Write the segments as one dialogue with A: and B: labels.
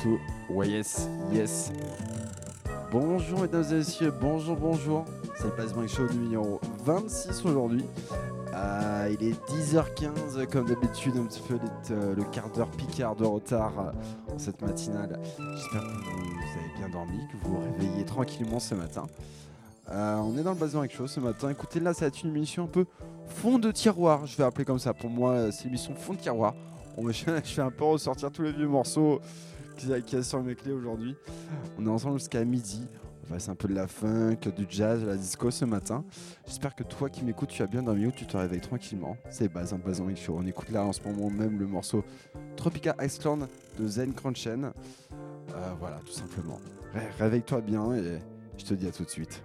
A: tout. Ouais, yes. Bonjour mesdames et messieurs, bonjour. C'est le Placement Show numéro 26 aujourd'hui. Il est 10h15 comme d'habitude, un petit peu le quart d'heure picard de retard en cette matinale. J'espère que vous avez bien dormi, que vous vous réveillez tranquillement ce matin. On est dans le Placement Show ce matin. Écoutez, là ça va être une émission un peu fond de tiroir, je vais appeler comme ça. Pour moi, c'est l'émission fond de tiroir. Je vais un peu ressortir tous les vieux morceaux qu'il y a sur mes clés aujourd'hui. On est ensemble jusqu'à midi. On va passer un peu de la funk, du jazz, de la disco ce matin. J'espère que toi qui m'écoutes, tu as bien dormi ou tu te réveilles tranquillement. C'est Bazin Show. On écoute là en ce moment même le morceau Tropica Iceland de Zen Crunchen. Voilà, tout simplement. Réveille-toi bien et je te dis à tout de suite.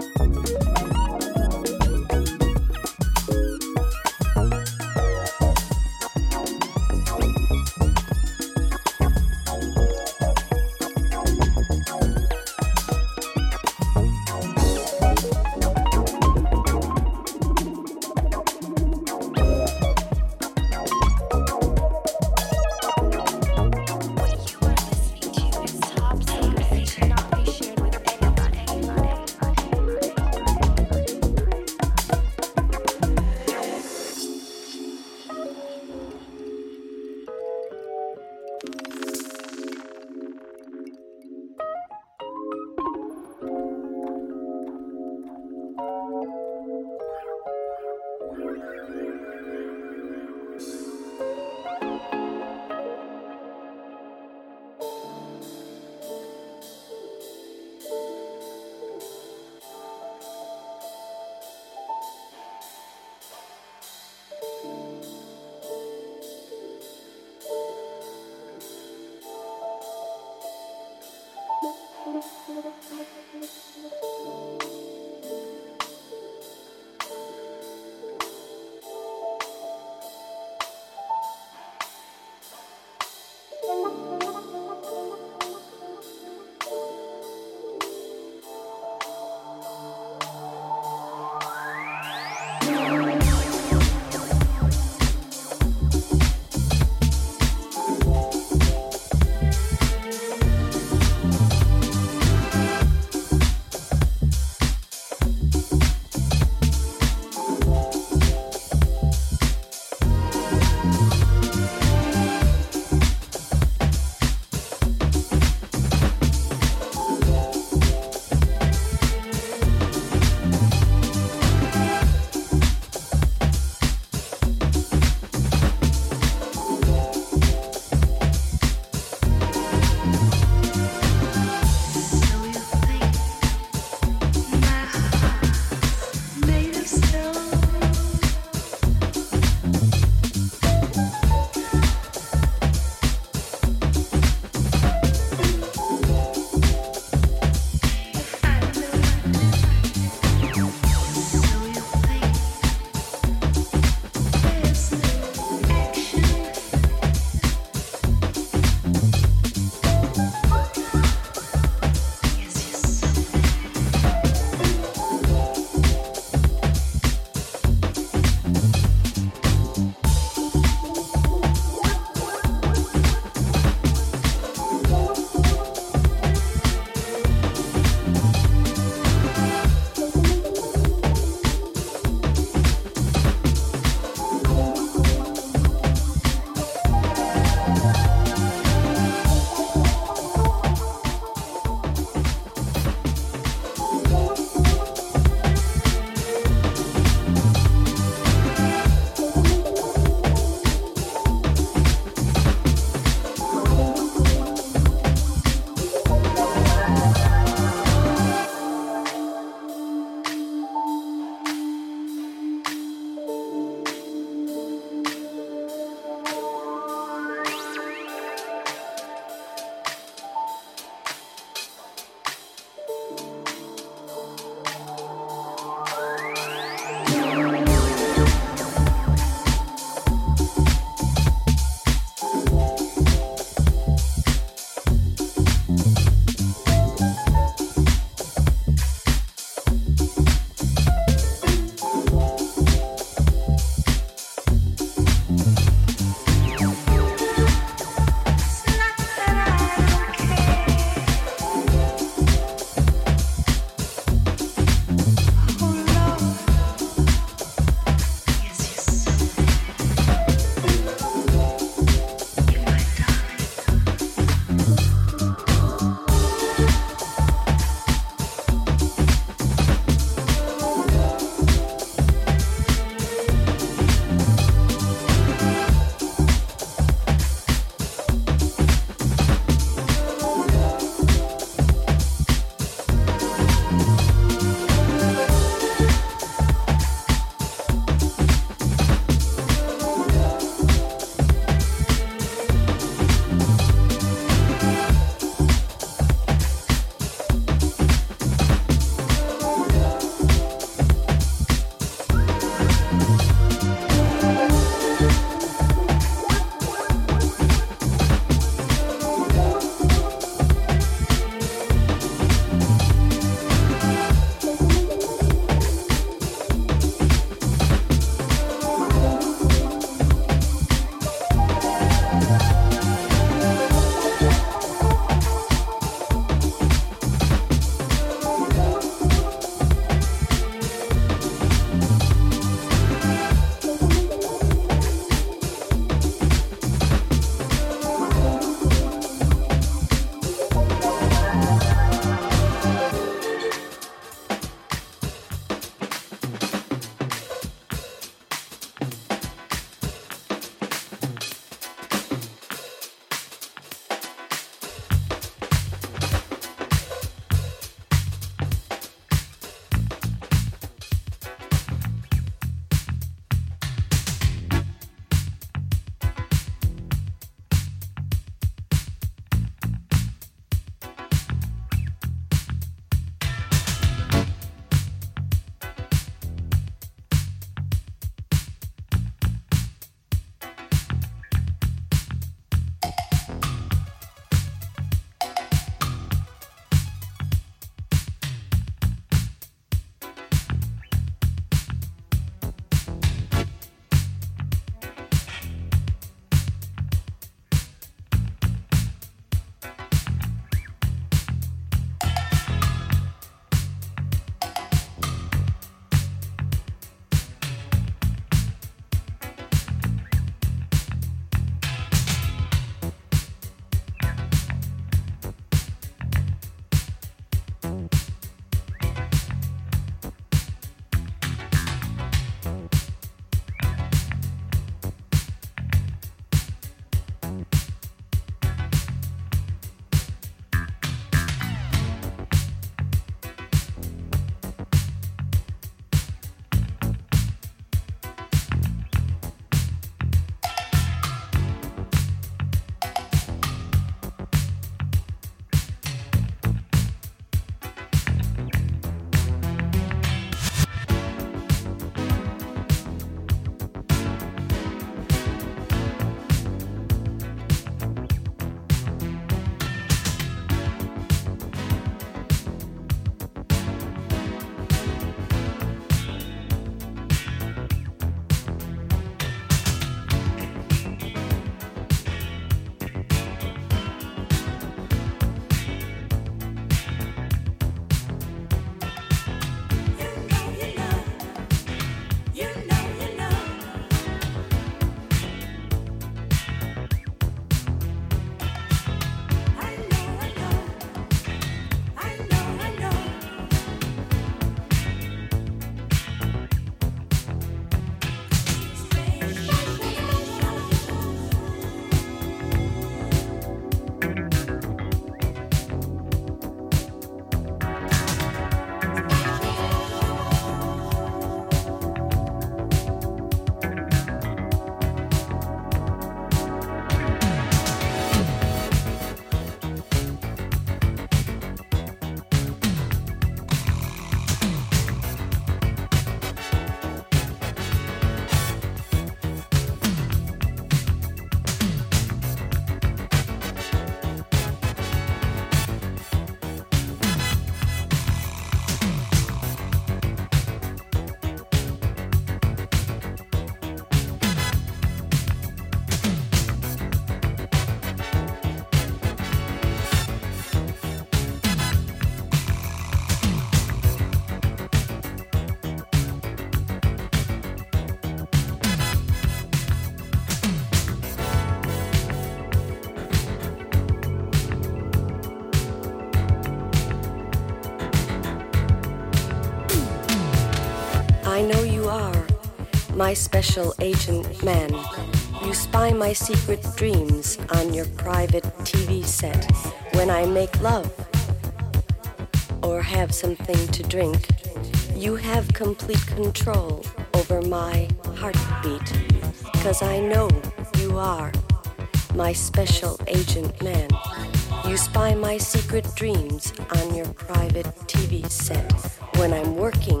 B: my special agent man. You spy my secret dreams on your private TV set. When I make love or have something to drink, you have complete control over my heartbeat. 'Cause I know you are my special agent man. You spy my secret dreams on your private TV set. When I'm working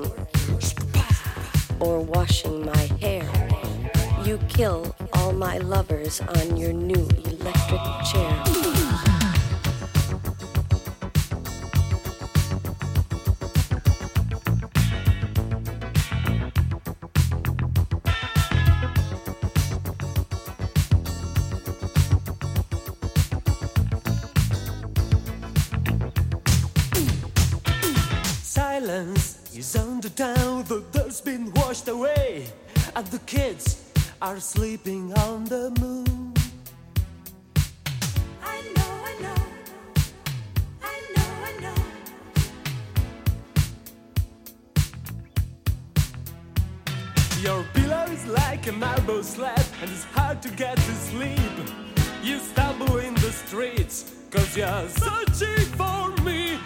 B: or washing my hair, you kill all my lovers on your new electric chair.
C: Silence is on the town, the dirt's been washed away, and the kids are sleeping on the moon.
D: I know, I know, I know, I know.
C: Your pillow is like a marble slab, and it's hard to get to sleep. You stumble in the streets, 'cause you're searching for me.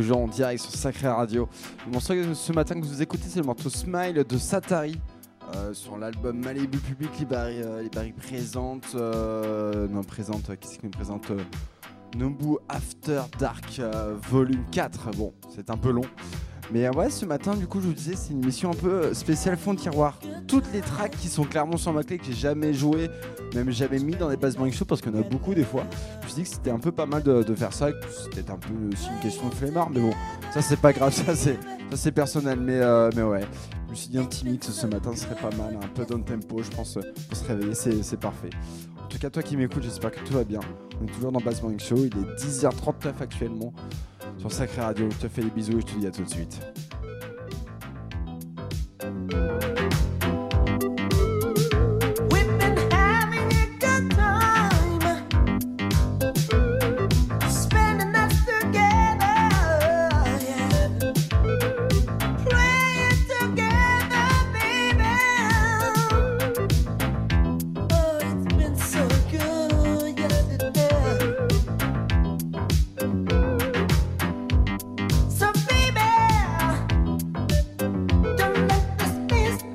A: toujours en direct sur Sacré Radio. Le morceau ce matin que vous écoutez, c'est le morceau Smile de Satari. Sur l'album Malibu Public, Libari présente. Qui c'est qui me présente Nobu After Dark volume 4. Bon, c'est un peu long. Mais ouais, ce matin, du coup, je vous disais, c'est une émission un peu spéciale fond de tiroir. Toutes les tracks qui sont clairement sur ma clé, que j'ai jamais joué, même jamais mis dans des Bass Morning Show, parce qu'il y en a beaucoup des fois. Je me suis dit que c'était un peu pas mal de faire ça, que c'était un peu aussi une question de flemmard, mais bon, ça c'est pas grave, ça c'est personnel, mais ouais. Je me suis dit un petit mix ce matin serait pas mal, un peu down tempo, je pense, pour se réveiller, c'est parfait. En tout cas, toi qui m'écoutes, j'espère que tout va bien. On est toujours dans Bass Morning Show, il est 10h39 actuellement. Sur Sacré Radio, je te fais des bisous et je te dis à tout de suite.
D: So baby, don't let this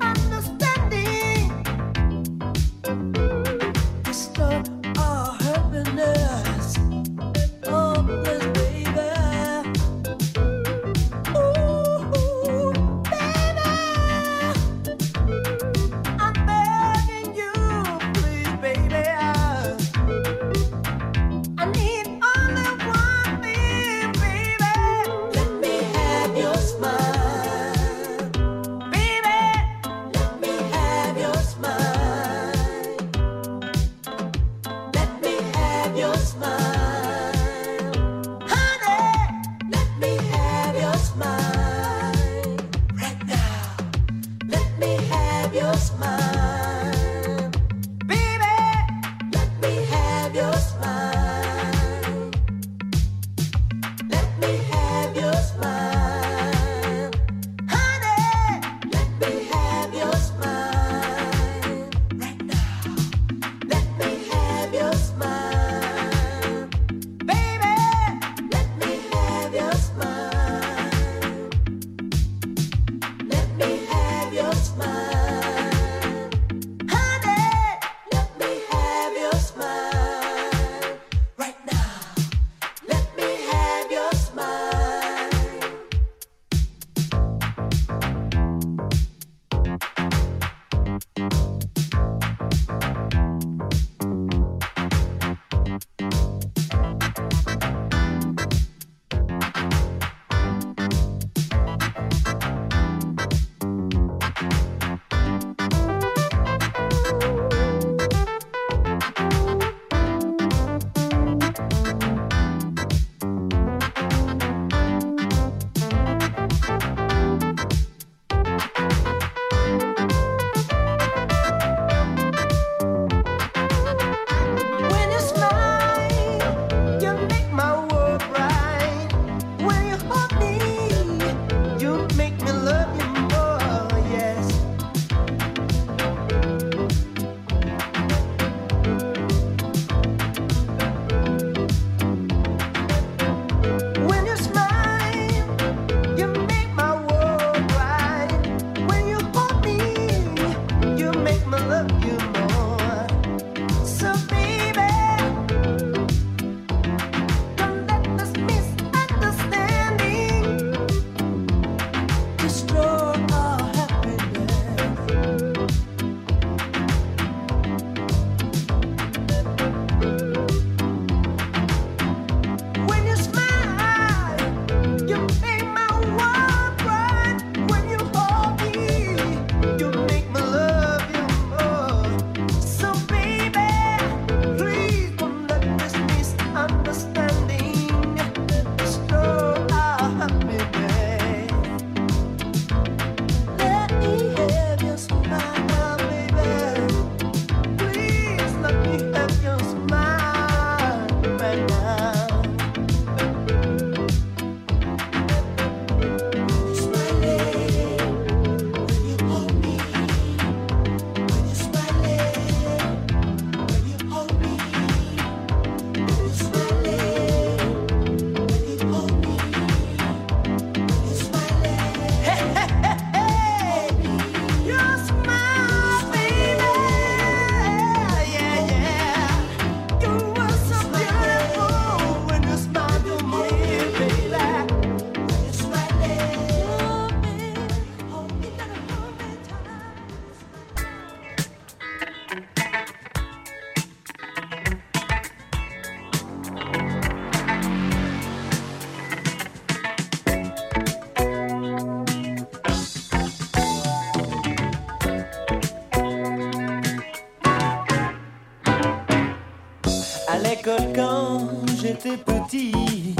E: l'école quand j'étais petit.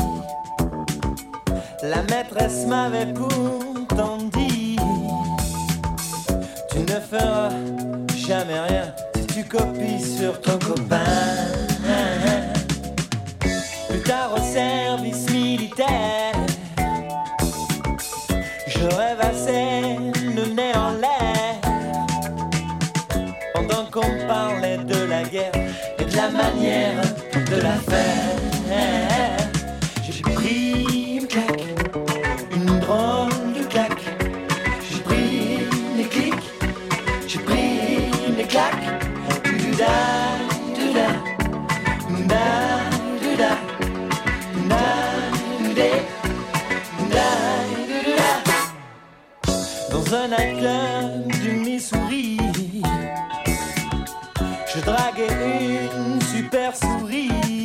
E: La maîtresse m'avait pourtant dit: tu ne feras jamais rien si tu copies sur ton copain. Plus tard au service militaire, je rêvassais le nez en l'air, pendant qu'on parlait de la guerre et de la manière de la faire. J'ai pris une claque, une drôle de claque. J'ai pris des clics, j'ai pris des claques. Du-da, du-da, du-da, du-da, du-da, du-da, du-da. Dans un nightclub du Missouri, je draguais une super souris.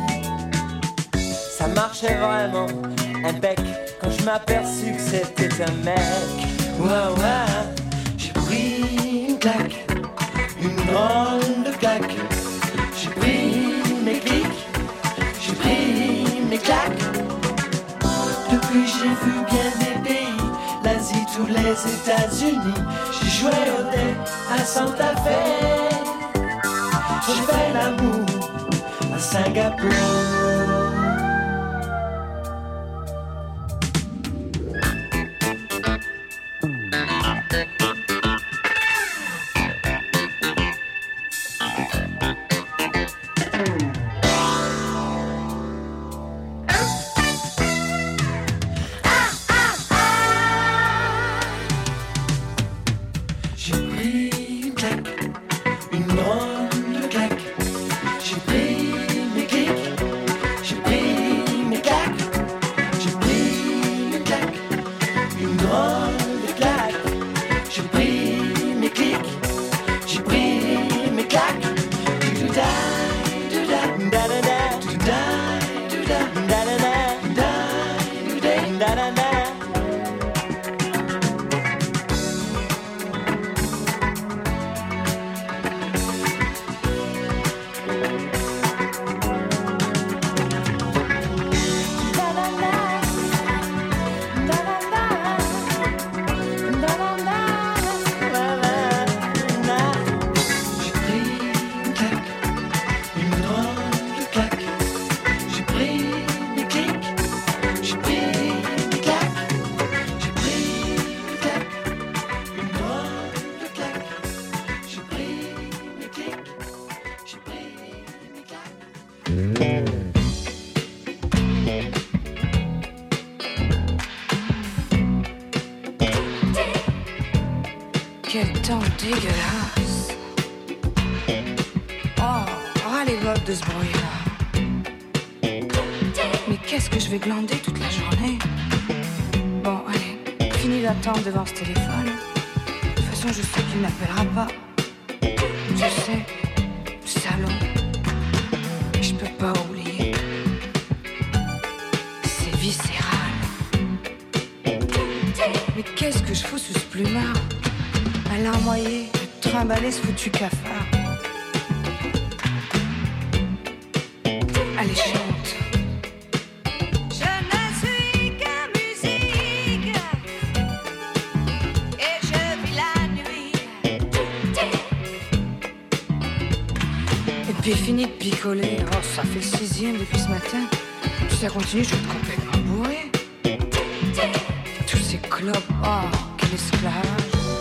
E: Ça marchait vraiment impec quand je m'aperçus que c'était un mec. Ouah, ouah. J'ai pris une claque, une drôle de claque. J'ai pris mes clics, j'ai pris mes claques. Depuis j'ai vu bien des pays, l'Asie, tous les États-Unis. J'ai joué au dé à Santa Fe. J'ai fait l'amour à Singapour.
F: Quel temps dégueulasse. Oh, les votes de ce bruit-là. Mais qu'est-ce que je vais glander toute la journée? Bon, allez, fini d'attendre devant ce téléphone. De toute façon, je sais qu'il n'appellera pas. Je sais, salaud. Je peux pas oublier. C'est viscéral. Mais qu'est-ce que je fous sous ce plumard? À larmoyer, à trimballer ce foutu cafard. Allez, chante.
D: Je ne suis que musique et je vis la nuit.
F: Et puis fini de picoler. Oh, ça fait le 6e depuis ce matin. Si ça continue, je vais être complètement bourré. Tous ces clopes. Oh, quel esclavage.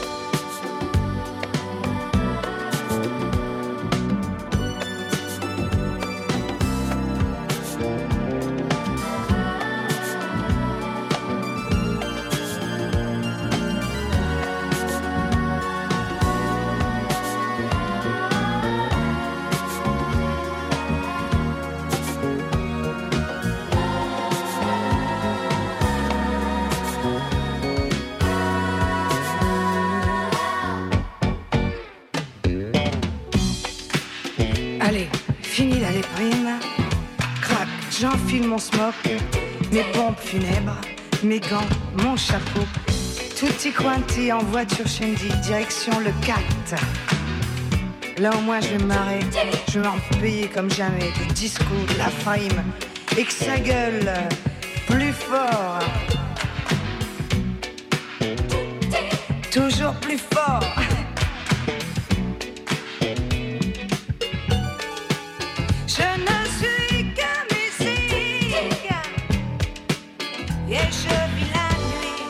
F: Allez, fini la déprime. Crac, j'enfile mon smock, mes pompes funèbres, mes gants, mon chapeau. Tutti quanti en voiture Shandy, direction le 4. Là au moins je vais me marrer, je vais en payer comme jamais. Du disco, de la frime, et que ça gueule plus fort. Toujours plus fort. Je ne suis que musique et je vis la nuit.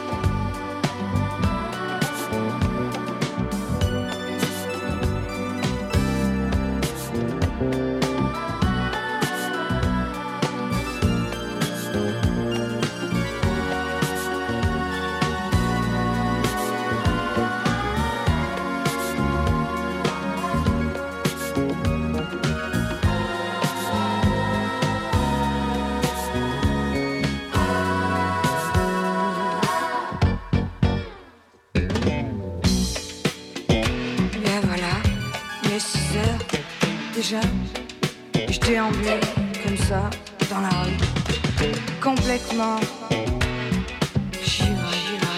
F: Déjà, je déambule comme ça dans la rue, complètement givré.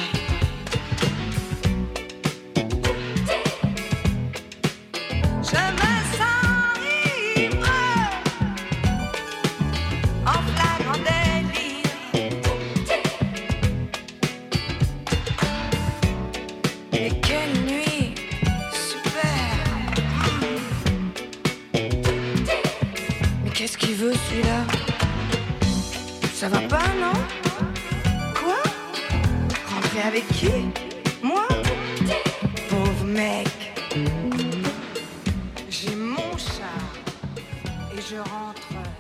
F: Je me sens ivre, en flagrant délit. Et quelle nuit super. Qu'est-ce qu'il veut celui-là? Ça va pas, non? Quoi? Rentrer avec qui? Moi? Pauvre mec. J'ai mon char et je rentre.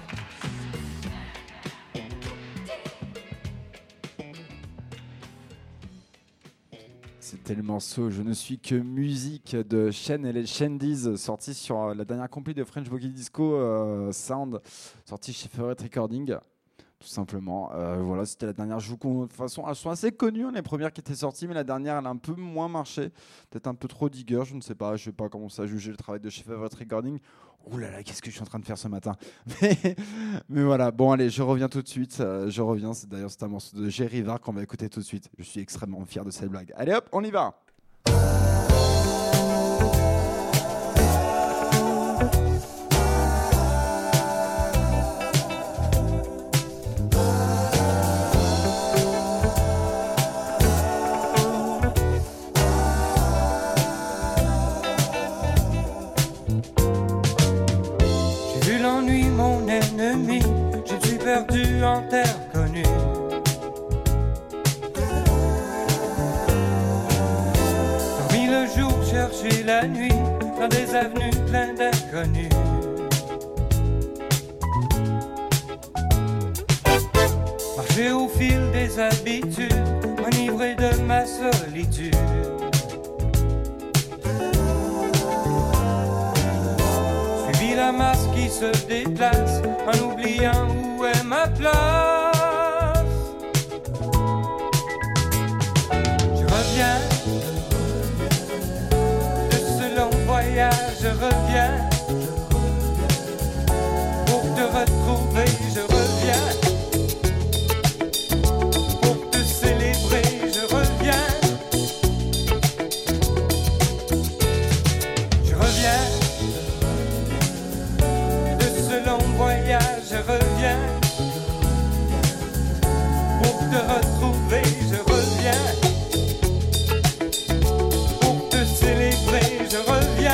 A: C'était le morceau Je ne suis que musique de Shen et les Shandies, sorti sur la dernière compil de French Boogie Disco Sound, sorti chez Favorite Recording, tout simplement. Voilà, c'était la dernière. Je vous de toute façon, elles sont assez connues, hein, les premières qui étaient sorties, mais la dernière, elle a un peu moins marché. Peut-être un peu trop digger, je ne sais pas. Je ne vais pas commencer à juger le travail de chez Favorite Recording. Ouh là là, qu'est-ce que je suis en train de faire ce matin. Mais voilà, bon allez, je reviens tout de suite. C'est un morceau de Jerry Var qu'on va écouter tout de suite. Je suis extrêmement fier de cette blague. Allez hop, on y va.
G: Je suis perdu en terre connue. Dormi le jour, chercher la nuit dans des avenues pleines d'inconnus. Marcher au fil des habitudes, enivré de ma solitude. Suivi la masse qui se déplace en oubliant où est ma place. Je reviens de ce long voyage, je reviens pour te retrouver, je reviens pour te célébrer, je reviens. Je reviens de ce long voyage, je reviens pour te retrouver, je reviens pour te célébrer, je reviens.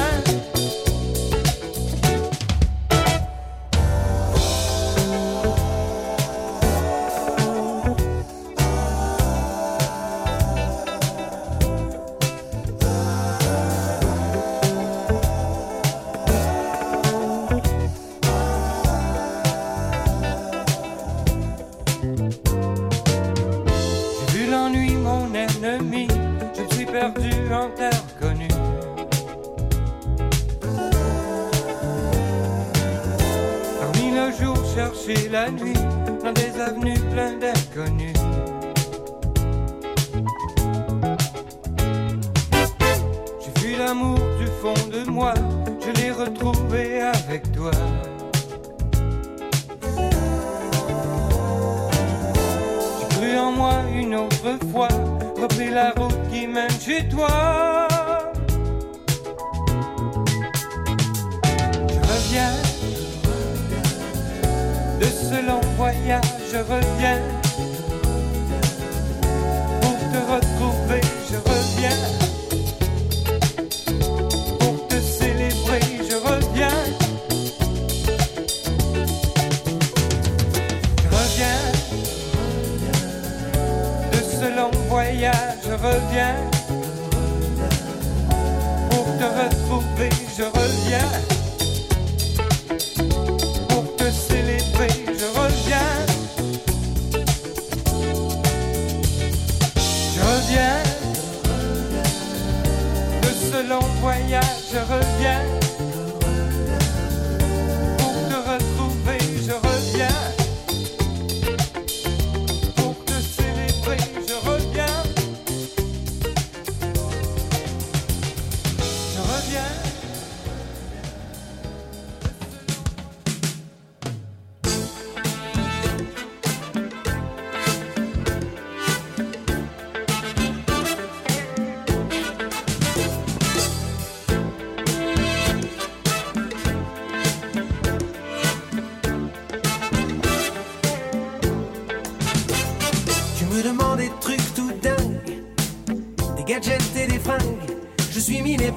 G: En terre connue. Parmi le jour, chercher la nuit dans des avenues pleines d'inconnus. J'ai vu l'amour du fond de moi, je l'ai retrouvé avec toi. J'ai cru en moi une autre fois, repris la route qui mène chez toi.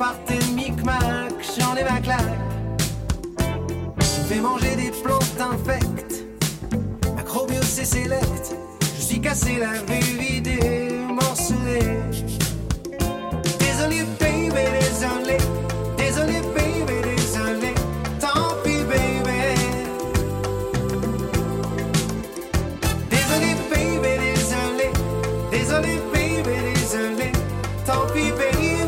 H: parties de micmac, j'en ai ma claque. Tu me fais manger des plantes infectes, macrobios c'est select. Je suis cassé, lavé, vidé, morcelé. Désolé baby, désolé. Désolé baby, désolé. Tant pis baby. Désolé baby, désolé. Désolé baby, désolé. Tant pis baby.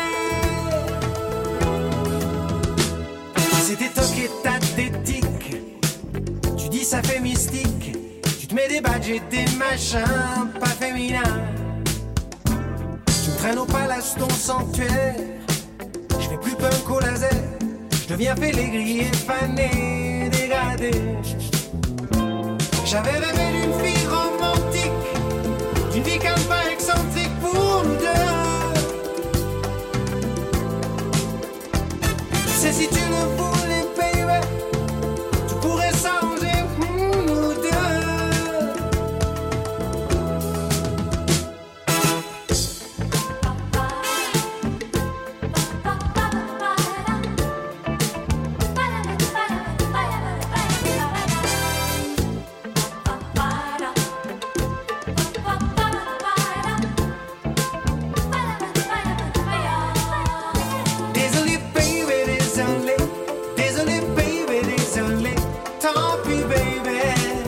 H: C'était toqué ta tétique. Tu dis ça fait mystique. Tu te mets des badges et des machins pas féminins. Tu me traînes au palace ton sanctuaire. Je fais plus punk au laser. Je deviens félégrier, fané, dégradé. J'avais rêvé d'une fille romantique, d'une vie calme pas excentrique pour nous deux. C'est si tu le voulais baby, tu pourrais s'arranger pour nous deux. Désolé baby, désolé. Désolé baby, désolé. Tant pis baby.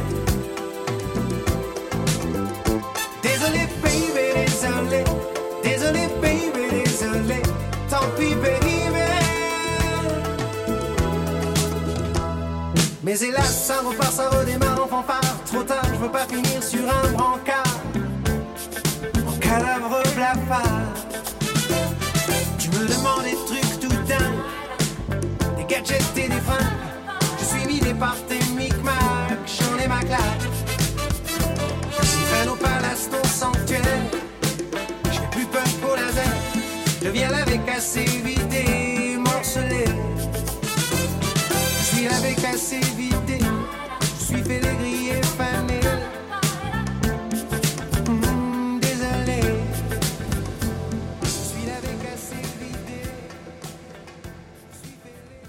H: Désolé baby, désolé. Désolé baby, désolé. Tant pis baby. Mais hélas, ça repart, ça redémarre en fanfare. Trop tard, je veux pas finir sur un brancard, en cadavre blafard. Tu me demandes des trucs tout dingues, des gadgets et des fringues. Je suis vidé par tes micmacs, j'en ai ma claque. Si traîne au palace ton sanctuaire, je fais plus punk au laser. Je viens laver, casser, vider, morceler. Je suis lavé, cassé, vidé. Je suis félégrier, fané. Désolé. Je suis lavé, cassé, vidé. Je suis félé.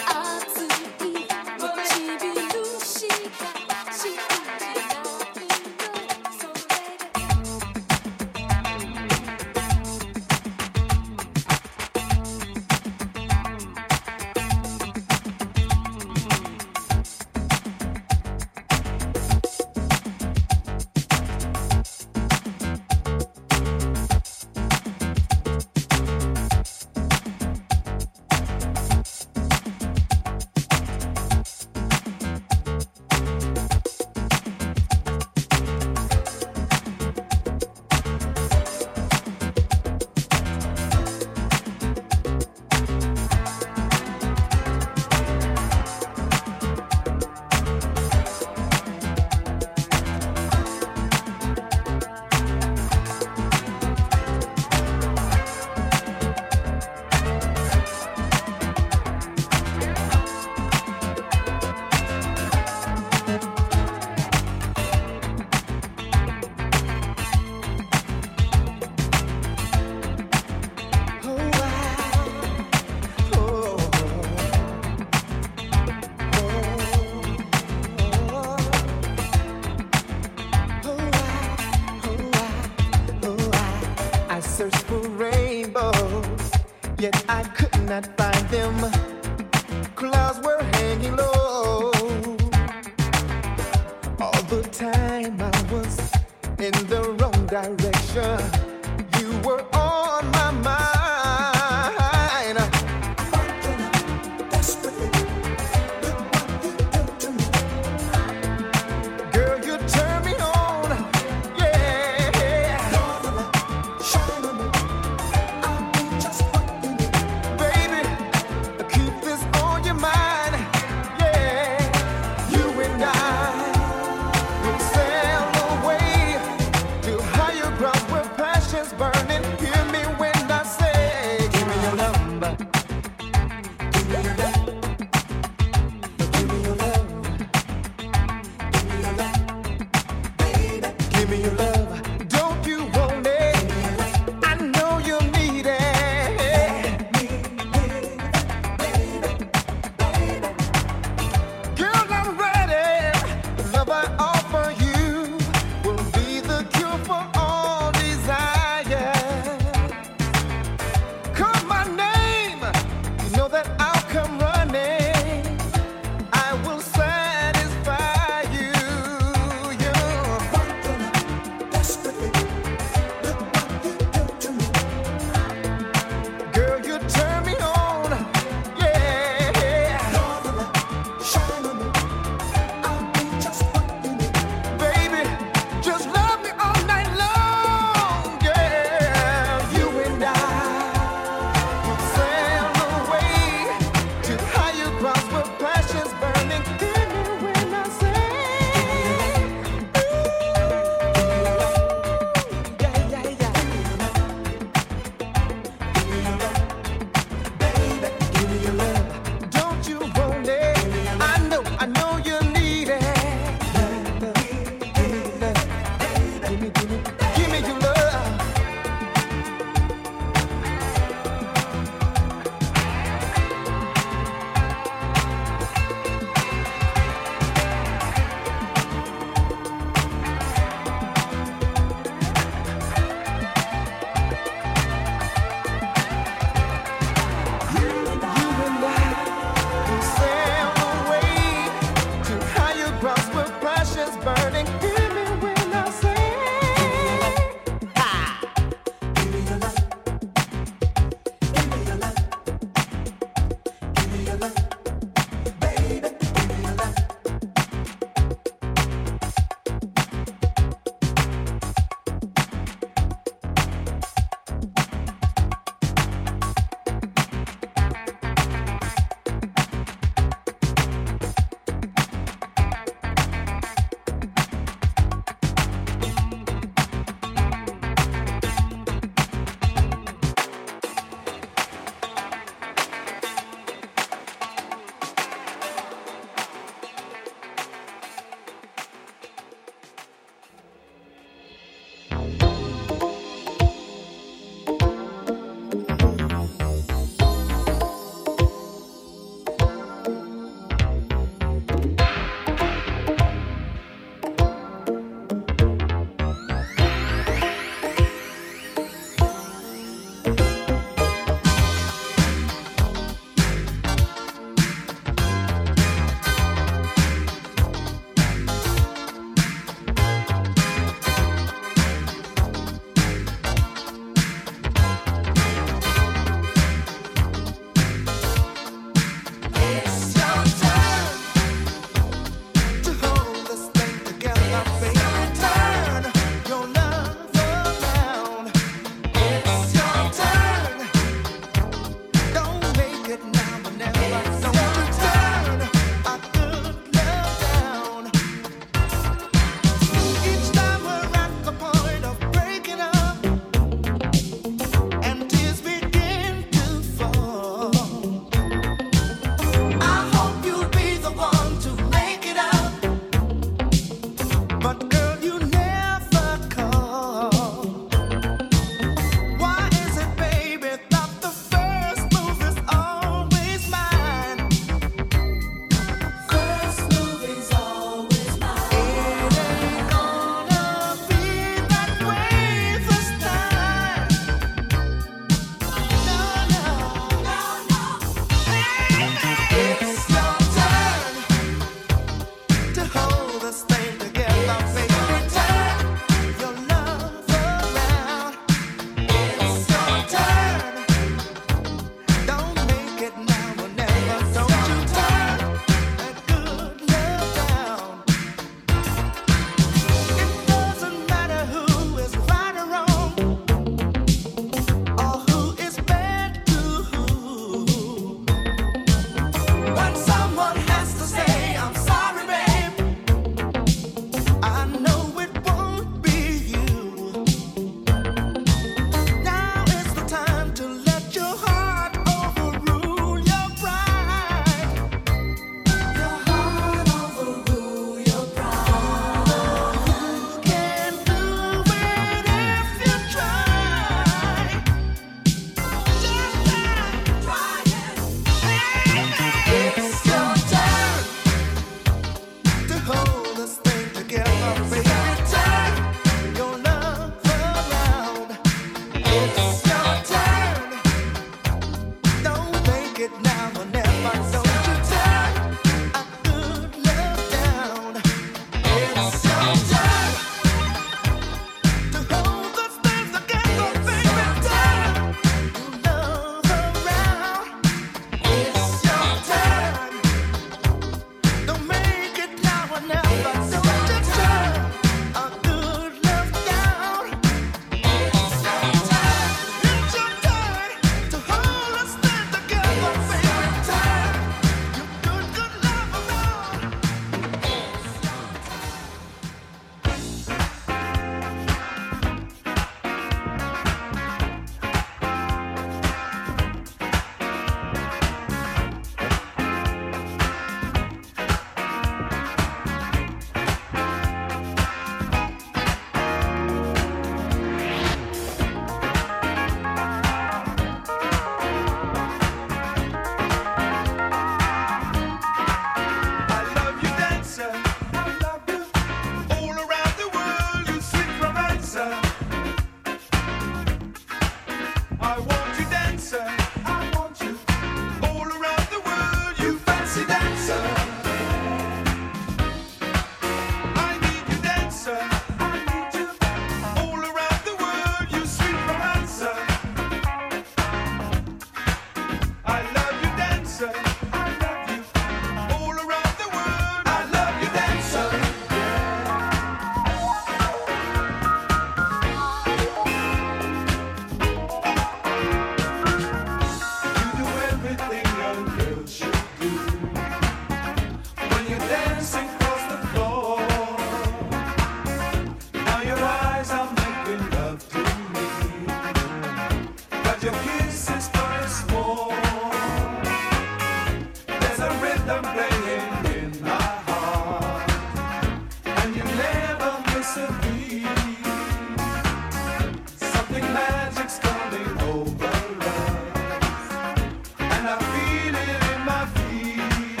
H: rhythm playing in my heart, and you never miss a beat. Something magic's coming over us, and I feel it in my feet.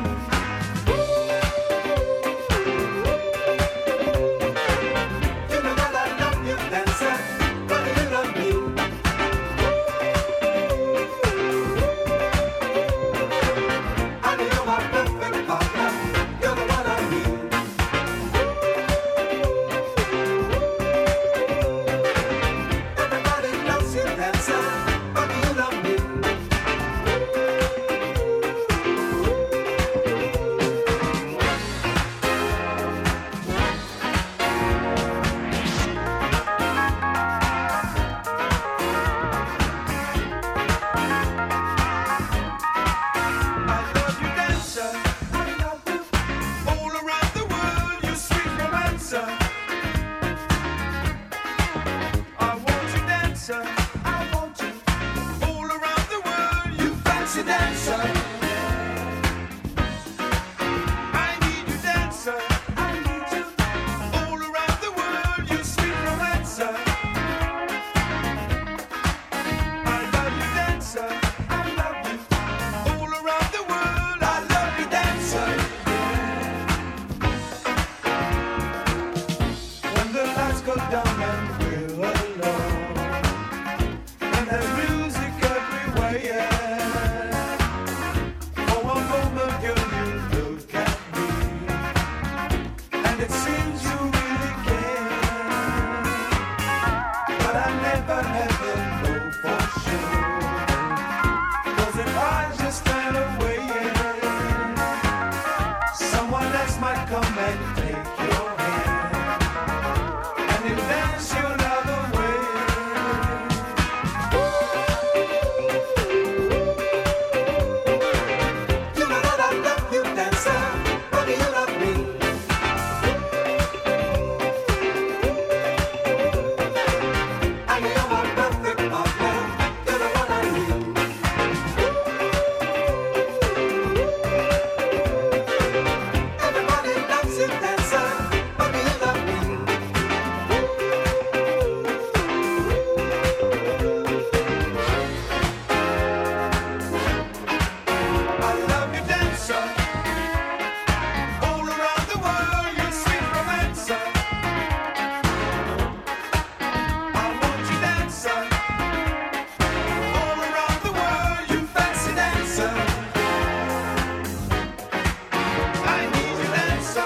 H: You know that I love you, dancer, but you love me. And you're my perfect partner, you're the one I need. Everybody loves you, dancer, but you love me. I love you, dancer. I love you. All around the world, you sweet romancer. I want you, dancer. I want you. All around the world, you fancy dancer. I need you, dancer. I need you. All around the world, you sweet romancer. I love you, dancer. I love you. All around the world, I love you, dancer. When the lights go down and we're alone, and there's music everywhere, yeah. For one moment, girl, you look at me, and it seems you really care. But I never ever know for sure, 'cause if I just stand away, someone else might come and take your hand, and it dance you another way. You know that I love you, dancer, but you love me. And you're my perfect partner, you're the one I need. Everybody loves you, dancer, but you love me. I love you, dancer. All around the world, you sweet romancer. I want you, dancer. All around the world, you fancy dancer. I need you, dancer.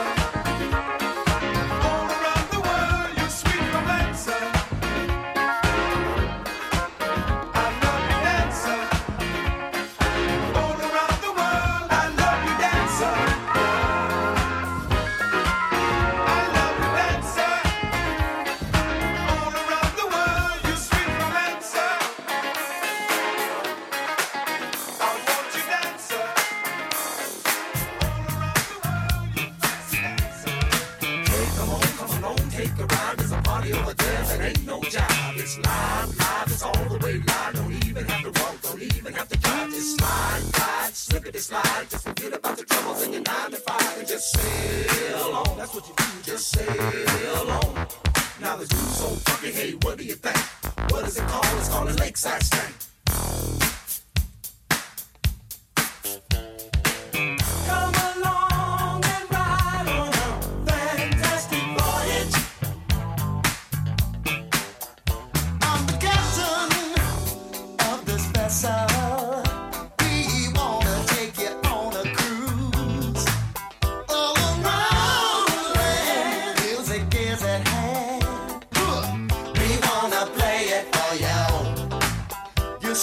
H: All around the world, you sweet romancer. I love you, dancer. All around the world, I love you, dancer. I love you, dancer. All around the world, you sweet romancer. I want you, dancer. All around the world, you fancy dancer.
I: Hey, come on, take a ride. There's a party over there that ain't no job. It's live, it's all the way live. Don't even have to walk, don't even have to drive. Just slide, slippity slide. Just forget about the troubles in your 9 to 5 and just sail on. That's what you do, just sail on. Now the dude's so funky, hey, what do you think? What is it called? It's called a lakeside stank.
H: Come along and ride on a fantastic voyage. I'm the captain of this vessel. We wanna take you on a cruise all around the land. Music is at hand. We wanna play it for you. You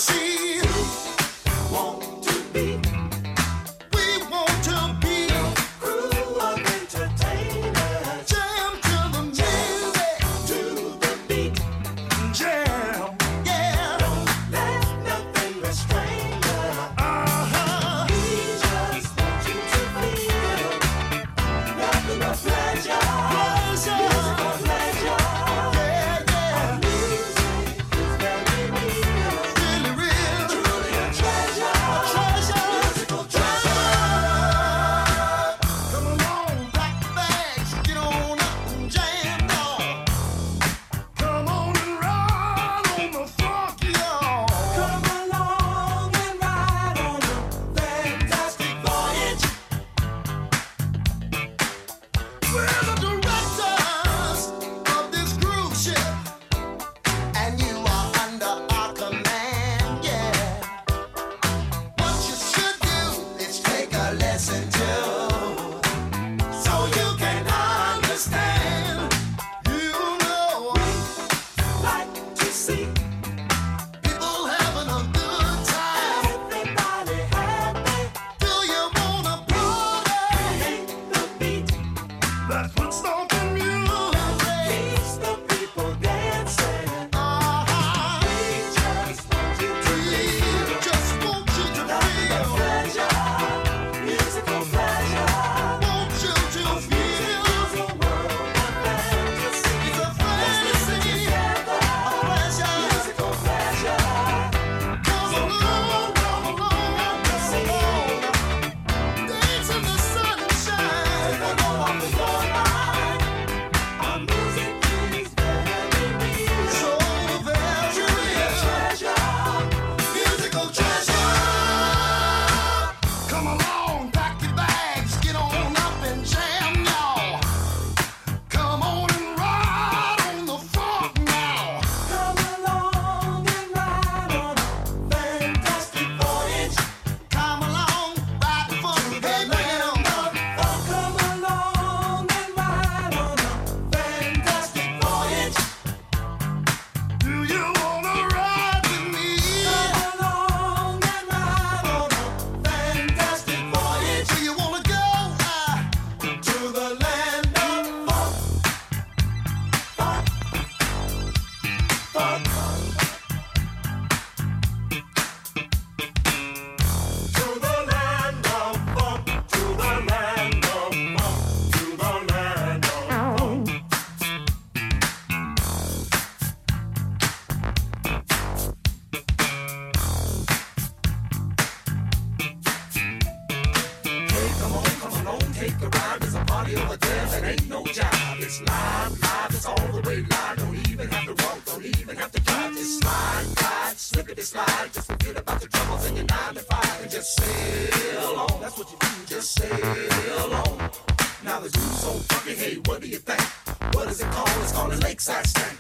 I: take a ride. There's a party over there that ain't no job. It's live, it's all the way live. Don't even have to walk, don't even have to drive. Just slide, slippity slide. Just forget about the troubles in your 9 to 5 and just sail on. That's what you do, just sail on. Now the dude's so funky, hey, what do you think? What is it called? It's called a lakeside stank.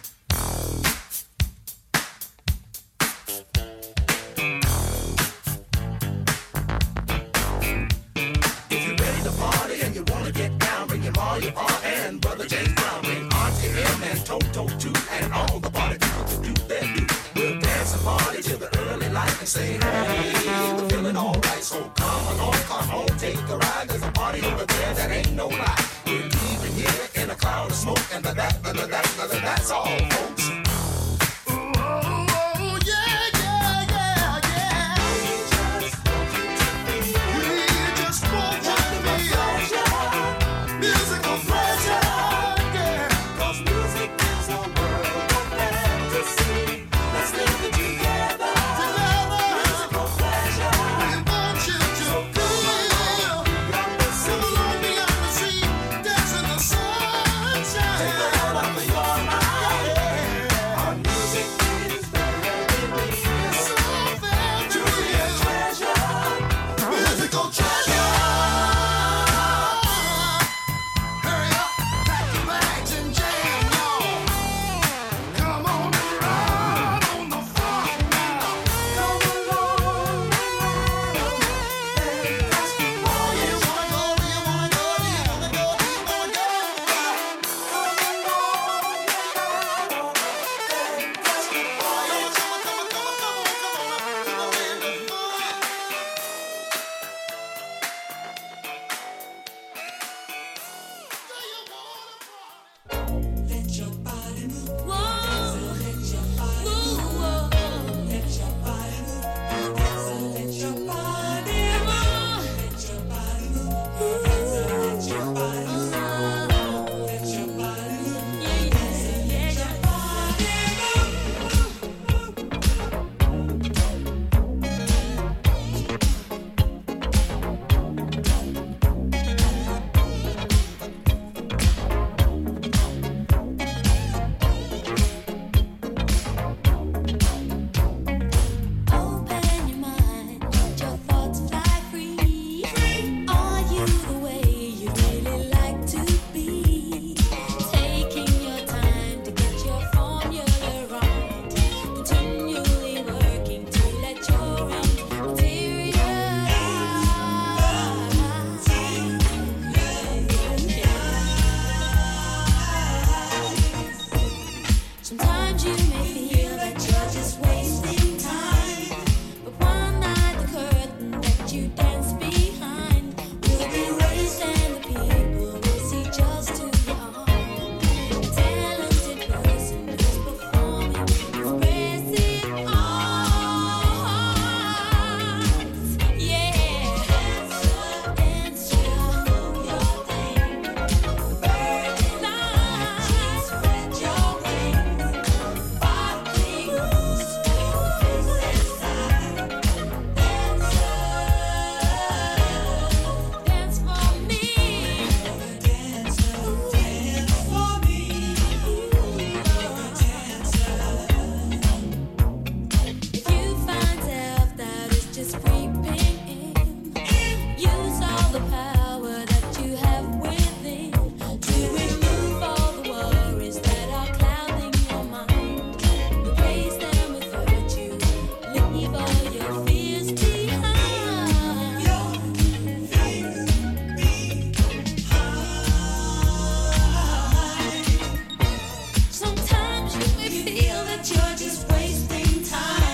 I: If you're ready to party and you wanna get down, bring your ma, your pa, and brother James Brown. Bring Auntie M and Toto too, and all the party people to do their do. We'll dance and party till the early light and say, hey, we're feeling alright. So come along, come home, take a ride. There's a party over there that ain't no lie. We're leaving here in a cloud of smoke, and that's all, folks.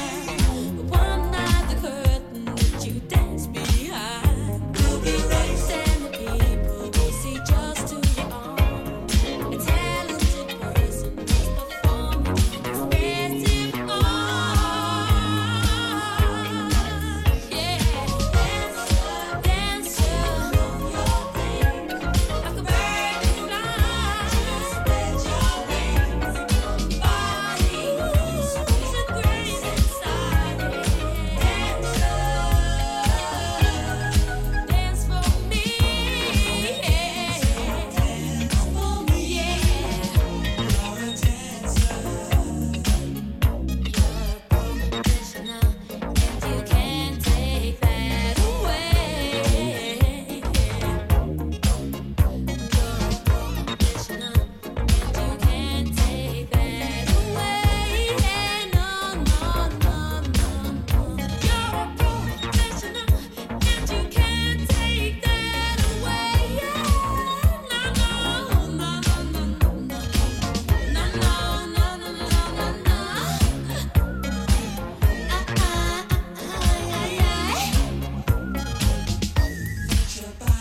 D: Erase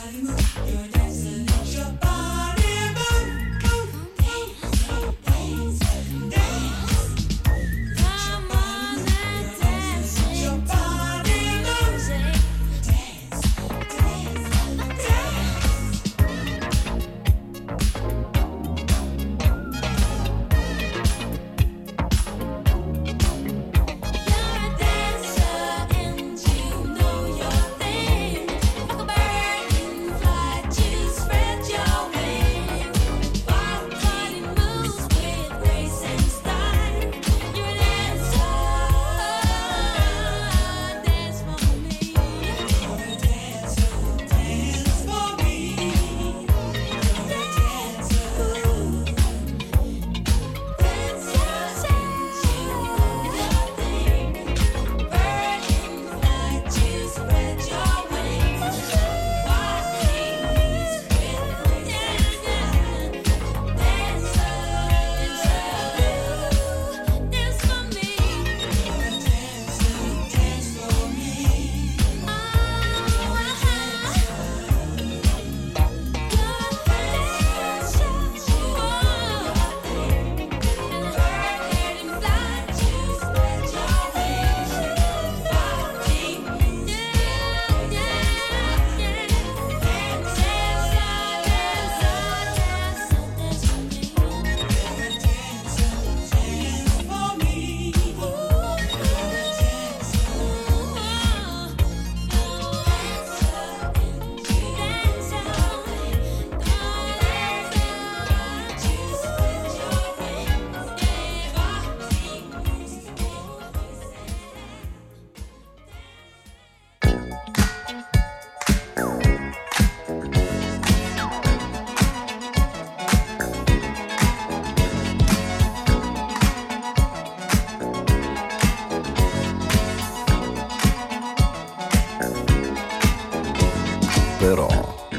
J: Però,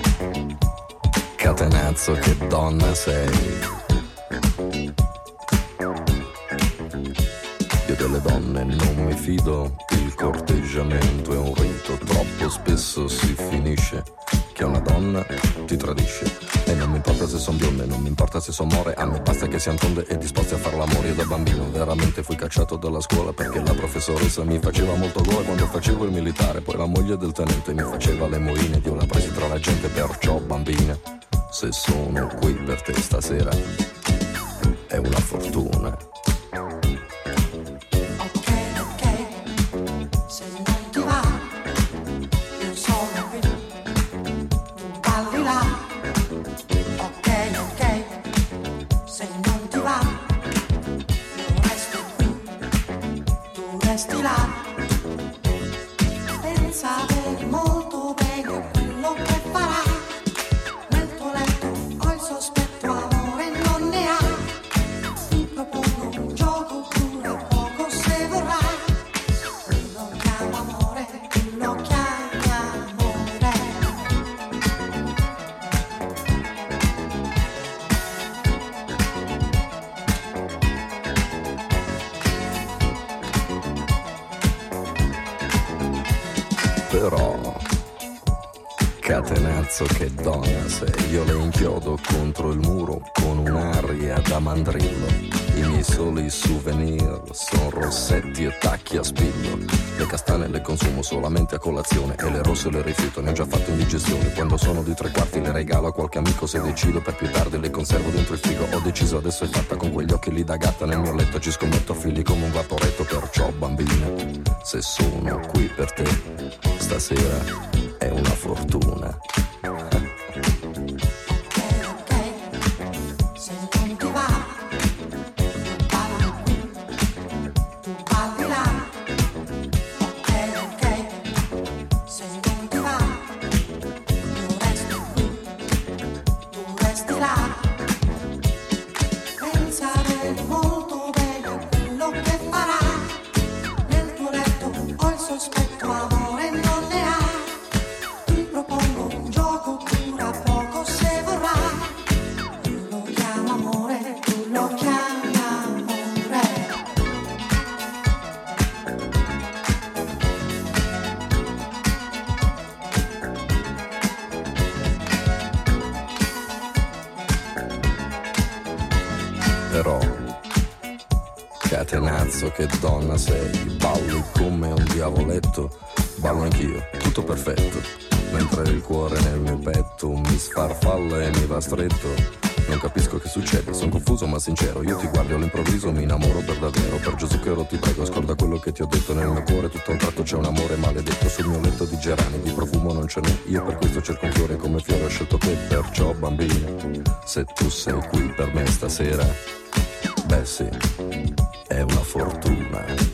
J: catenazzo che donna sei. Io delle donne non mi fido, il corteggiamento è un rito, troppo spesso si finisce che una donna ti tradisce. E non mi importa se son bionde, non mi importa se son more, a me basta che siano tonde e disposti a far l'amore. Io da bambino veramente fui cacciato dalla scuola perché la professoressa mi faceva molto gola quando facevo il militare. Poi la moglie del tenente mi faceva le moine ed io la presi tra la gente. Perciò bambina, se sono qui per te stasera è una fortuna. Però, catenazzo che donna sei. Io le inchiodo contro il muro con un'aria da mandrillo. I miei soli souvenir sono rossetti e tacchi a spillo. Le castane le consumo solamente a colazione e le rosse le rifiuto, ne ho già fatto indigestione. Quando sono di 3/4 le regalo a qualche amico, se decido per più tardi le conservo dentro il frigo. Ho deciso, adesso è fatta, con quegli occhi lì da gatta nel mio letto ci scommetto figli come un vaporetto. Perciò bambina, se sono qui per te stasera è una fortuna.
H: Sospetto amore non ne ha, ti propongo
J: però catenazzo che donna sei, balli come un diavoletto, ballo anch'io, tutto perfetto, mentre il cuore nel mio petto mi sfarfalla e mi va stretto. Non capisco che succede, sono confuso ma sincero. Io ti guardo all'improvviso, mi innamoro per davvero. Per Gesù che ero ti prego, scorda quello che ti ho detto. Nel mio cuore tutto a un tratto c'è un amore maledetto. Sul mio letto di gerani, di profumo non ce n'è. Io per questo cerco un fiore come fiore ho scelto te. Perciò bambina, se tu sei qui per me stasera, beh sì, è una fortuna.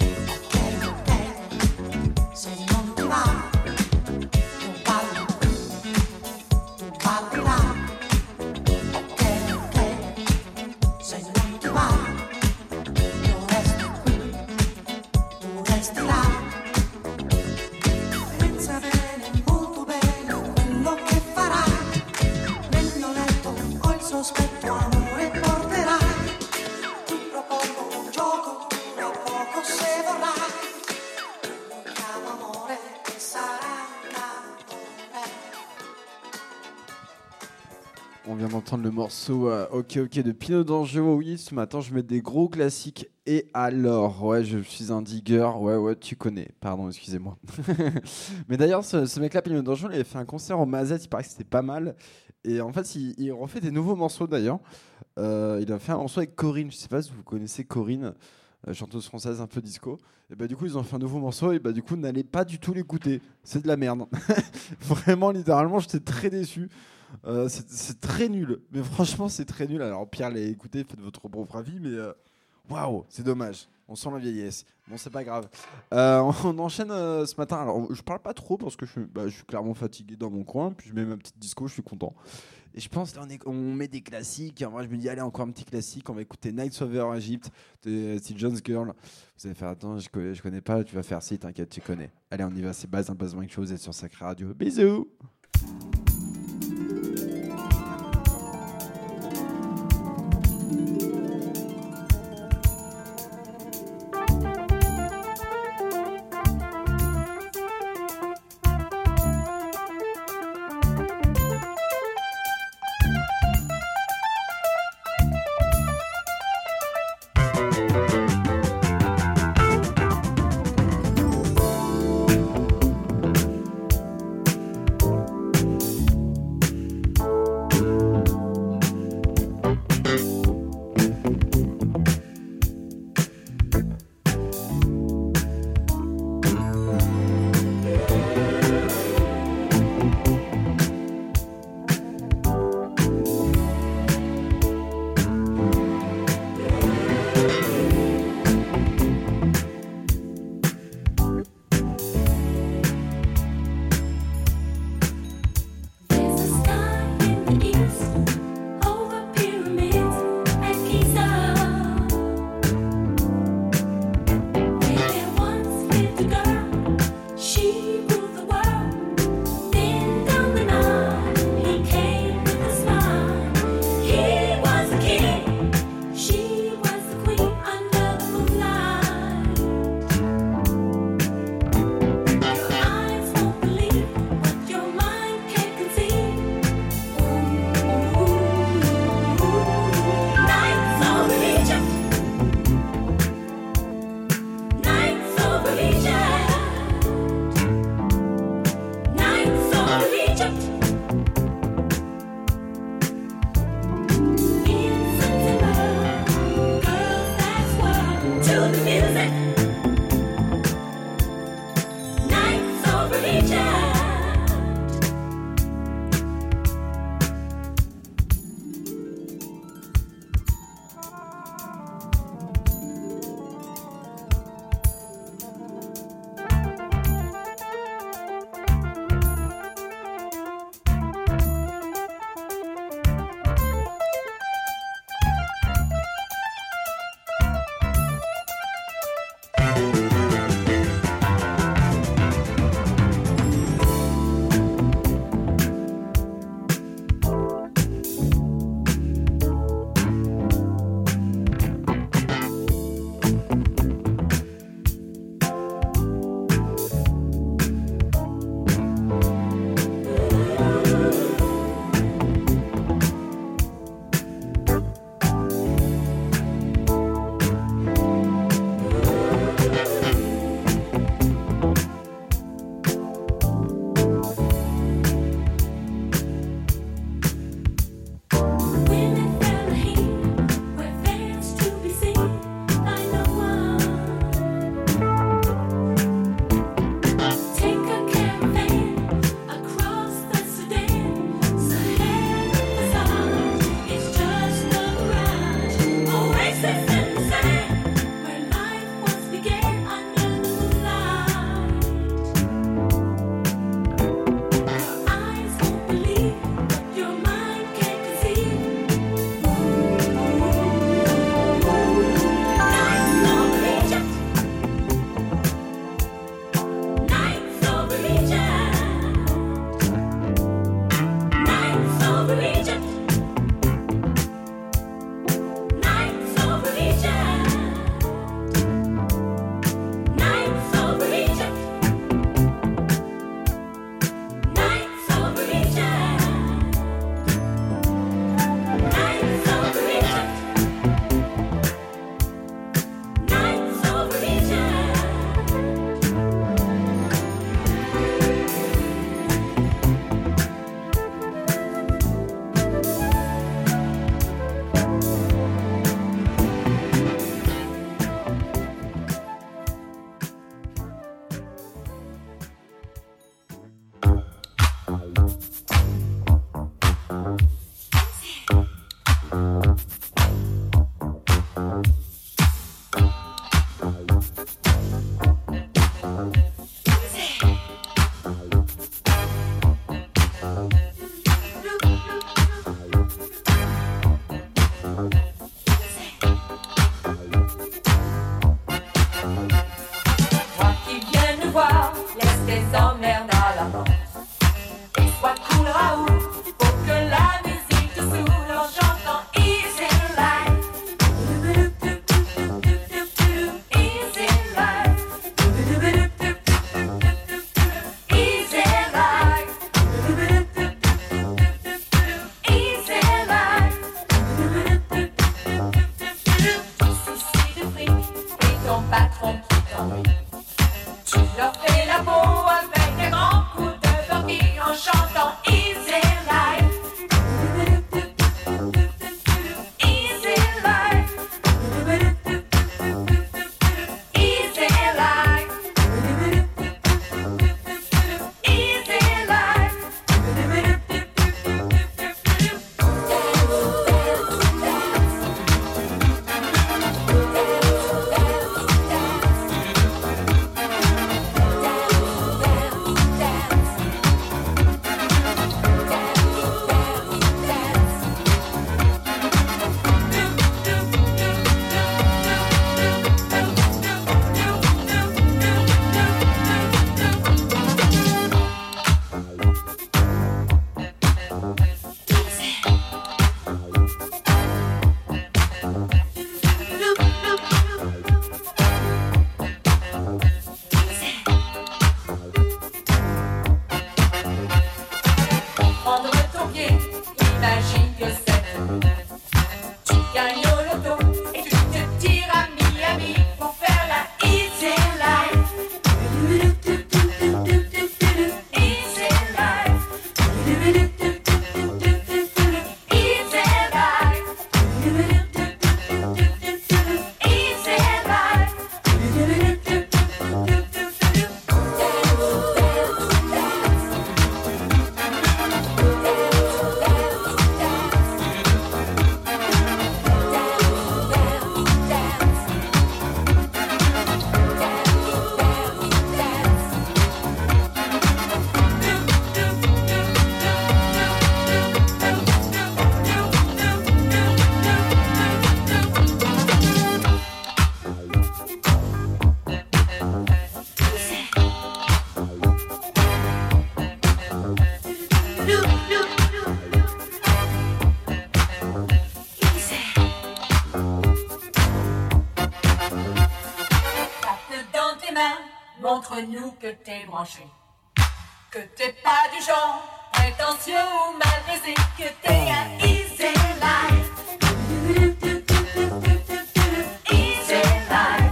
A: On vient d'entendre le morceau Ok Ok de Pino D'Angelo. Oui, ce matin je mets des gros classiques. Et alors, ouais, je suis un digger. Ouais, tu connais. Pardon, excusez-moi. Mais d'ailleurs, ce mec-là, Pino D'Angelo, il avait fait un concert au Mazette. Il paraît que c'était pas mal. Et en fait, il refait des nouveaux morceaux d'ailleurs. Il a fait un morceau avec Corinne. Je sais pas si vous connaissez Corinne, chanteuse française un peu disco. Et bah du coup, ils ont fait un nouveau morceau. Et bah du coup, n'allez pas du tout l'écouter. C'est de la merde. Vraiment, littéralement, j'étais très déçu. C'est très nul, mais franchement c'est très nul. Alors Pierre l'a écouté, faites votre propre avis, mais waouh, c'est dommage. On sent la vieillesse. Bon, c'est pas grave. On enchaîne ce matin. Alors je parle pas trop parce que je suis clairement fatigué dans mon coin. Puis je mets ma petite disco, je suis content. Et je pense on met des classiques. Et moi je me dis allez, encore un petit classique. On va écouter Nights Over Egypt de Steve Jones Girl. Vous allez faire attends, je connais pas. Tu vas faire si, t'inquiète, tu connais. Allez, on y va. C'est Baz Mike Show. Vous êtes sur Sacré Radio. Bisous.
K: premier, imagine que c'est. Tu gagnes au loto et tu te tires à Miami pour faire la easy life. Easy life. Montre-nous que t'es branché, que t'es pas du genre prétentieux ou mal baisé, que t'es un easy life. Easy life.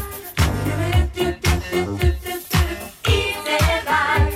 K: Easy life.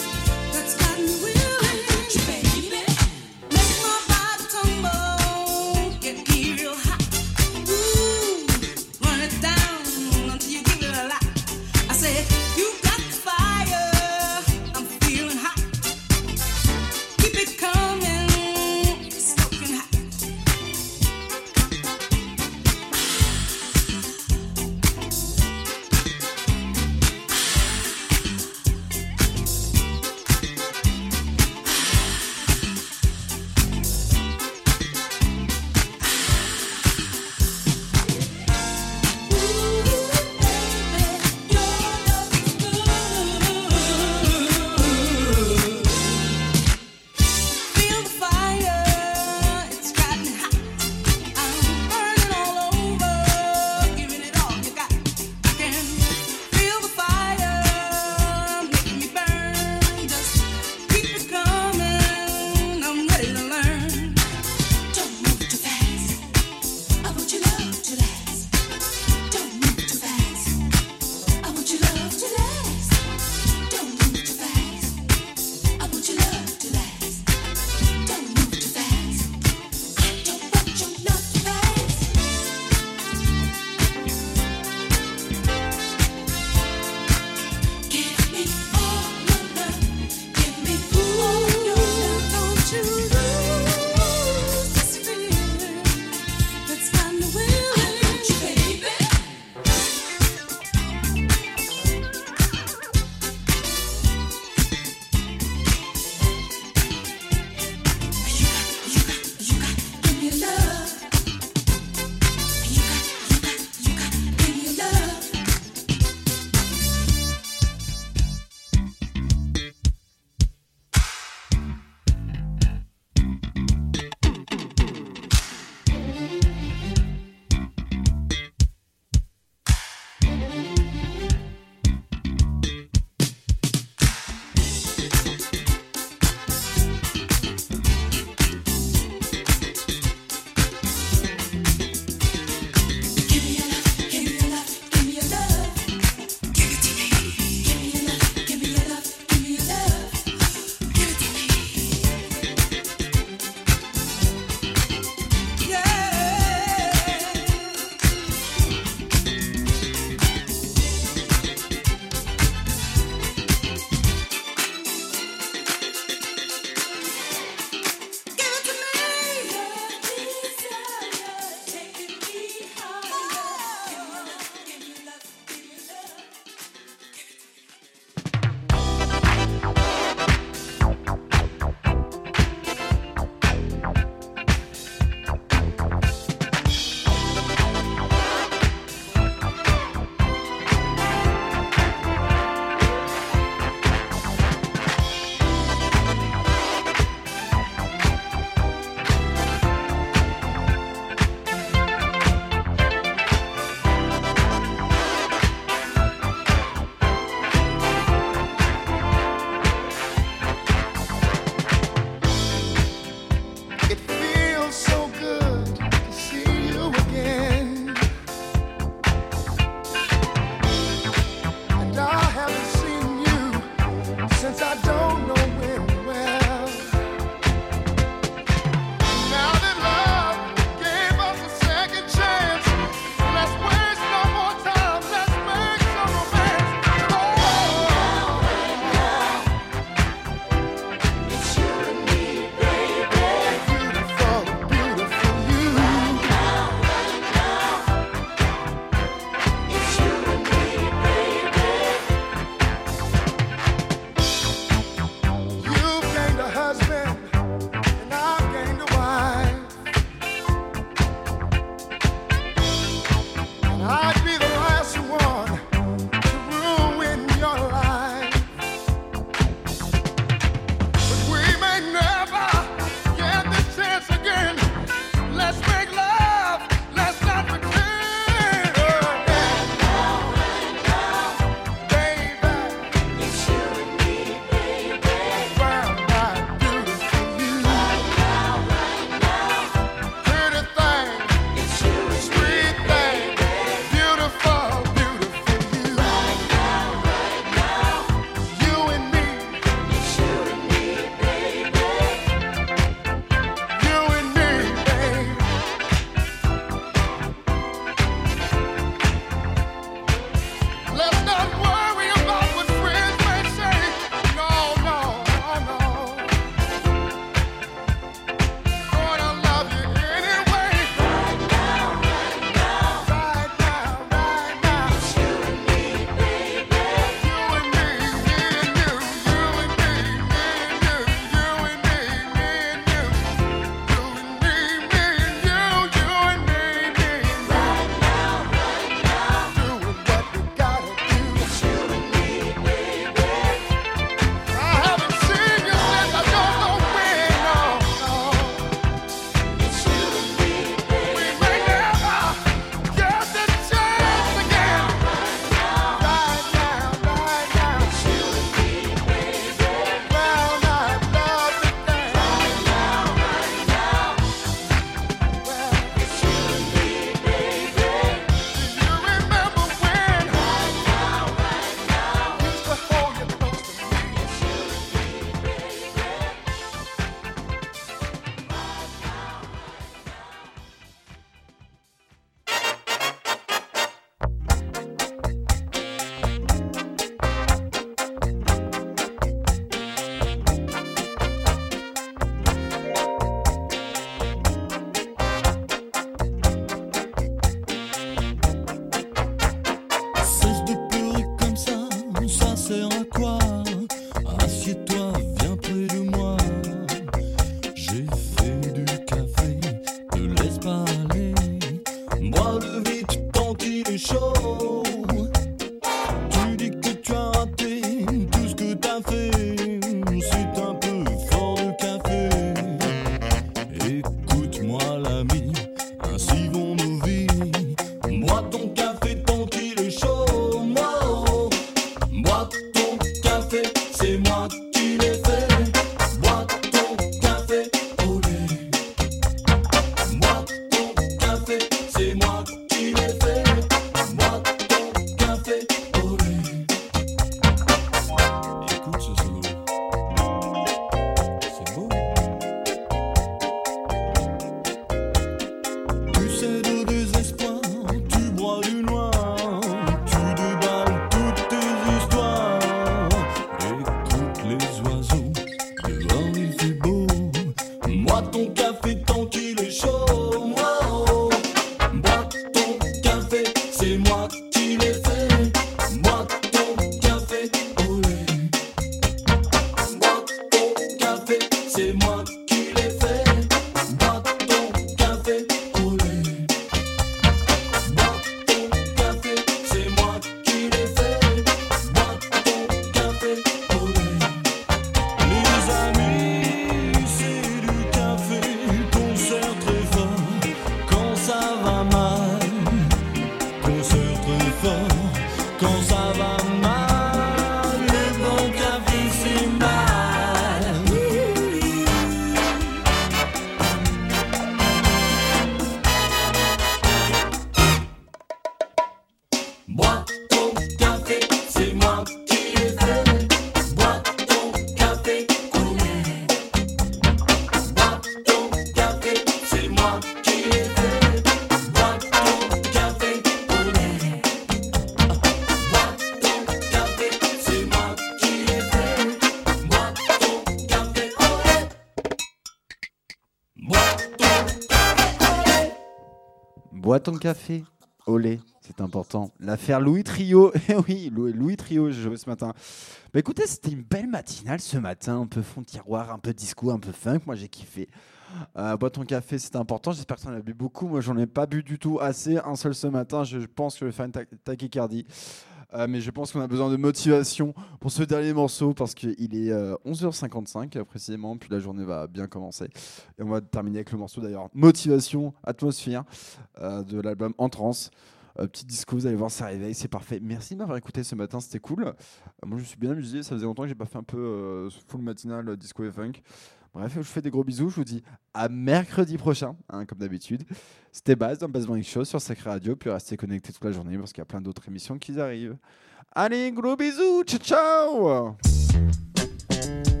A: Bois ton café au lait, c'est important. L'affaire Louis Trio, eh oui, Louis Trio, j'ai joué ce matin. Bah écoutez, c'était une belle matinale ce matin, un peu fond de tiroir, un peu disco, un peu funk, moi j'ai kiffé. Bois ton café, c'est important, j'espère que tu en as bu beaucoup, moi j'en ai pas bu du tout assez, un seul ce matin, je pense que je vais faire une tachycardie. Mais je pense qu'on a besoin de motivation pour ce dernier morceau parce qu'il est 11h55 précisément, puis la journée va bien commencer. Et on va terminer avec le morceau d'ailleurs Motivation, Atmosphère de l'album En Trance. Petit disco, vous allez voir, ça réveille, c'est parfait. Merci de m'avoir écouté ce matin, c'était cool. Moi je me suis bien amusé, ça faisait longtemps que j'ai pas fait un peu full matinal disco et funk. Bref, je vous fais des gros bisous, je vous dis à mercredi prochain, hein, comme d'habitude. C'était Baz dans Baz Morning Show sur Sacré Radio, puis restez connectés toute la journée parce qu'il y a plein d'autres émissions qui arrivent. Allez, gros bisous, ciao ciao.